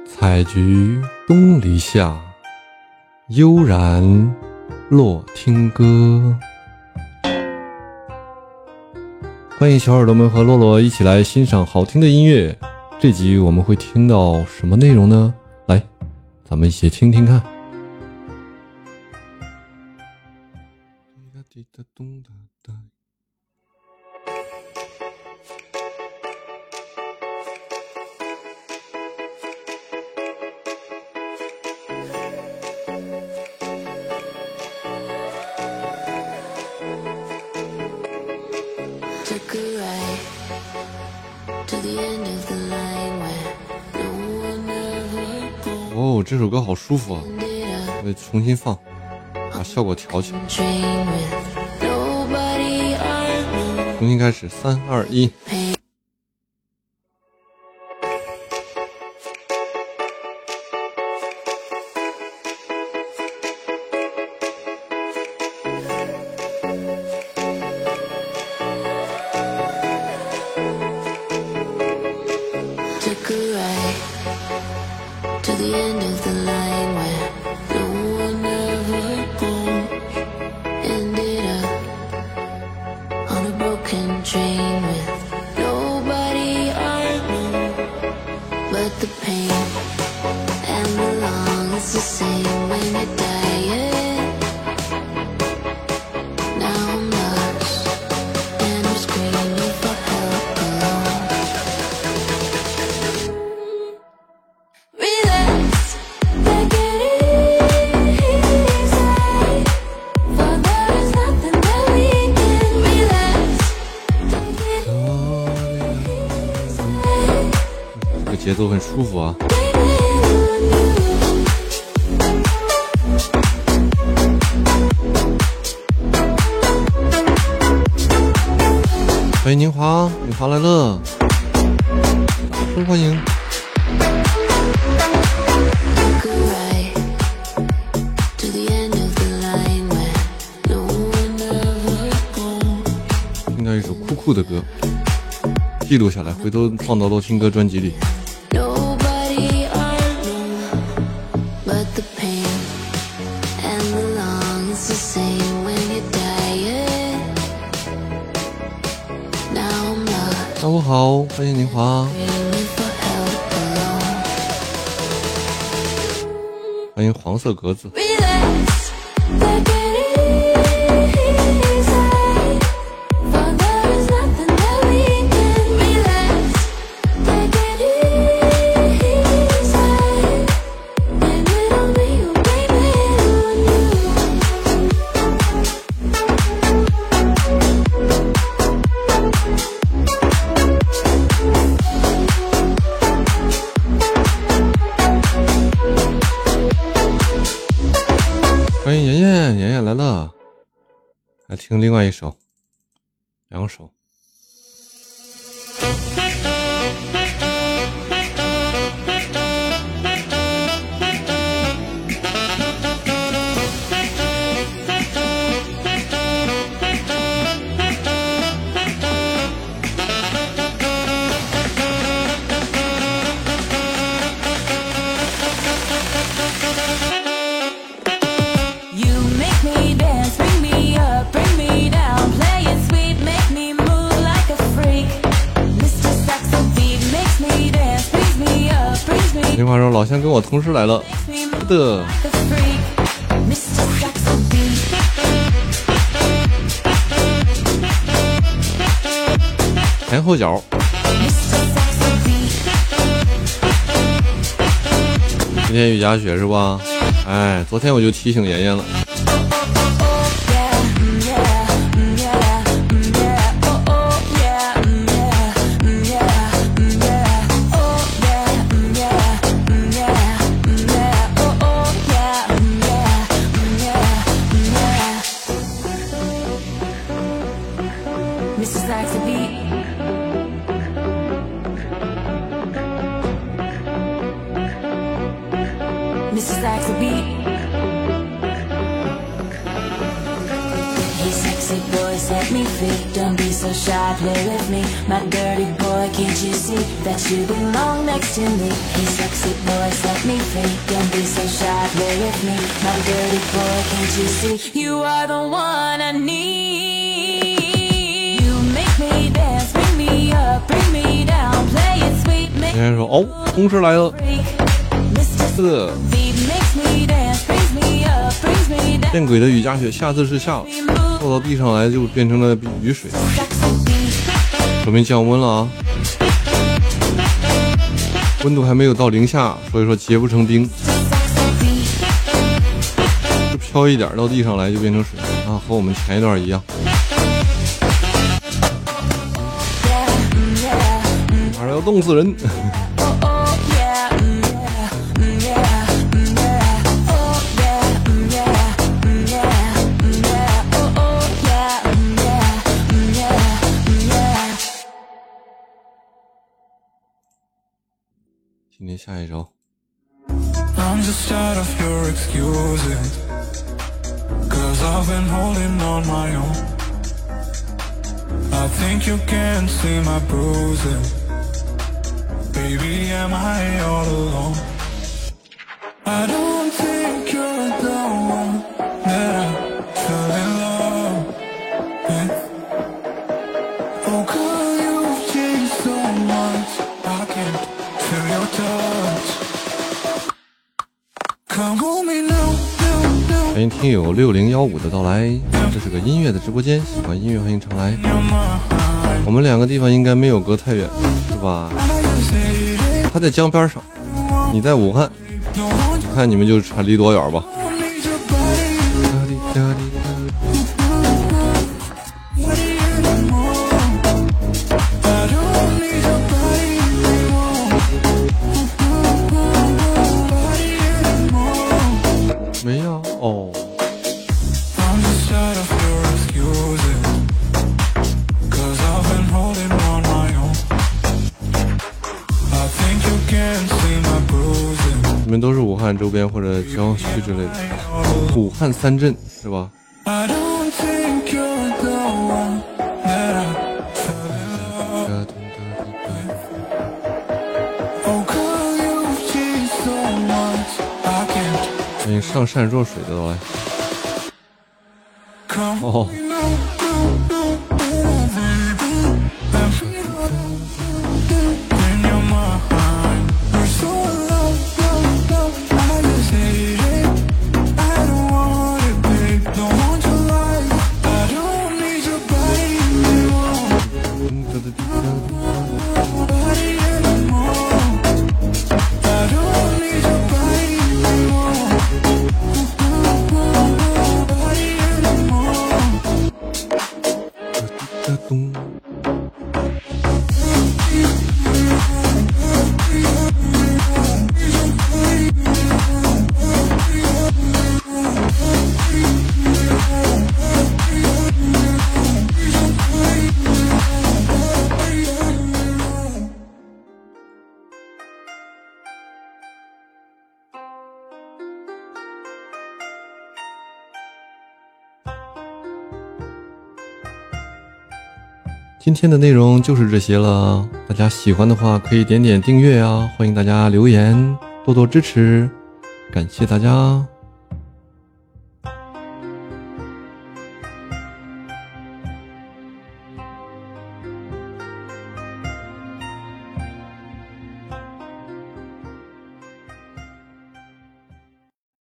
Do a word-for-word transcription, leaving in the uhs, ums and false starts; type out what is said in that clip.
采菊东篱下，悠然落听歌。欢迎小耳朵们和洛洛一起来欣赏好听的音乐。这集我们会听到什么内容呢？来，咱们一起听听看。哦，这首歌好舒服啊！我得重新放，把效果调起来。重新开始，三二一。节奏很舒服啊！欢迎宁华，宁华来了，大声欢迎！听到一首酷酷的歌，记录下来，回头放到洛听歌专辑里。下午好，欢迎宁华，欢迎黄色格子。欢迎妍妍，妍妍来了，来听另外一首，两首。宁华说老乡跟我同时来了的，前后脚。今天雨夹雪是吧？哎，昨天我就提醒妍妍了。 Missus likes a beat. Hey, sexy boy, set me free. Don't be so shy, play with me. My dirty boy, can't you see that you belong next to me? Hey, sexy boy, set me free. Don't be so shy, play with me. My dirty boy, can't you see? You are the one I need. You make me dance, bring me up, bring me down, play it sweet, make 人家说哦，同事来了， Mister 是 Beat makes me dance, brings me up, brings me down. 见鬼的雨夹雪，下次是下了，落到地上来就变成了雨水， Sexy beat. 说明降温了啊，温度还没有到零下，所以说结不成冰， Sexy beat. 就飘一点到地上来就变成水啊，和我们前一段一样， Yeah, mm, yeah, mm, 马上要冻死人。 oh, oh, yeah, mm, yeah, mm, yeah, mm, yeah, oh, yeah, mm, yeah, mm, yeah, mm, yeah, oh, oh, yeah, mm, yeah, mm, yeah, mm, yeah. 今天下一首， I'm just tired of your excuses, cause I've been holding on my own. I think you can see my bruises. Baby, am I all alone? I don't think you're the one that I fell in love with. Oh girl, you've changed so much, I can't feel your touch. Come hold me now, now, now. 欢迎听友六零幺五的到来，这是个音乐的直播间，喜欢音乐欢迎常来。 You're mine. 我们两个地方应该没有隔太远，是吧？ I just hate it. 他在江边上，你在武汉， Don't want you, 看你们就差离多远吧。 don't need your body, body anymore. I don't need your body anymore. Body anymore. 没呀，哦， I'm just tired of your excuses, cause I've been holding on my own. I think you can see my bruises. 你们都是武汉周边或者郊区之类的，武汉三镇是吧？ I don't think you're the one that I fell in love. Oh girl, you've changed so much, I can't 欢迎上善若水的到来。 come. 哦， No, no, no, baby. In your mind, you're so low, low, low. I just hate it. I don't want it, babe. Don't want your life. I don't need your body anymore. Body anymore. I don't need your body anymore. Body anymore. 今天的内容就是这些了，大家喜欢的话可以点点订阅啊，欢迎大家留言，多多支持，感谢大家。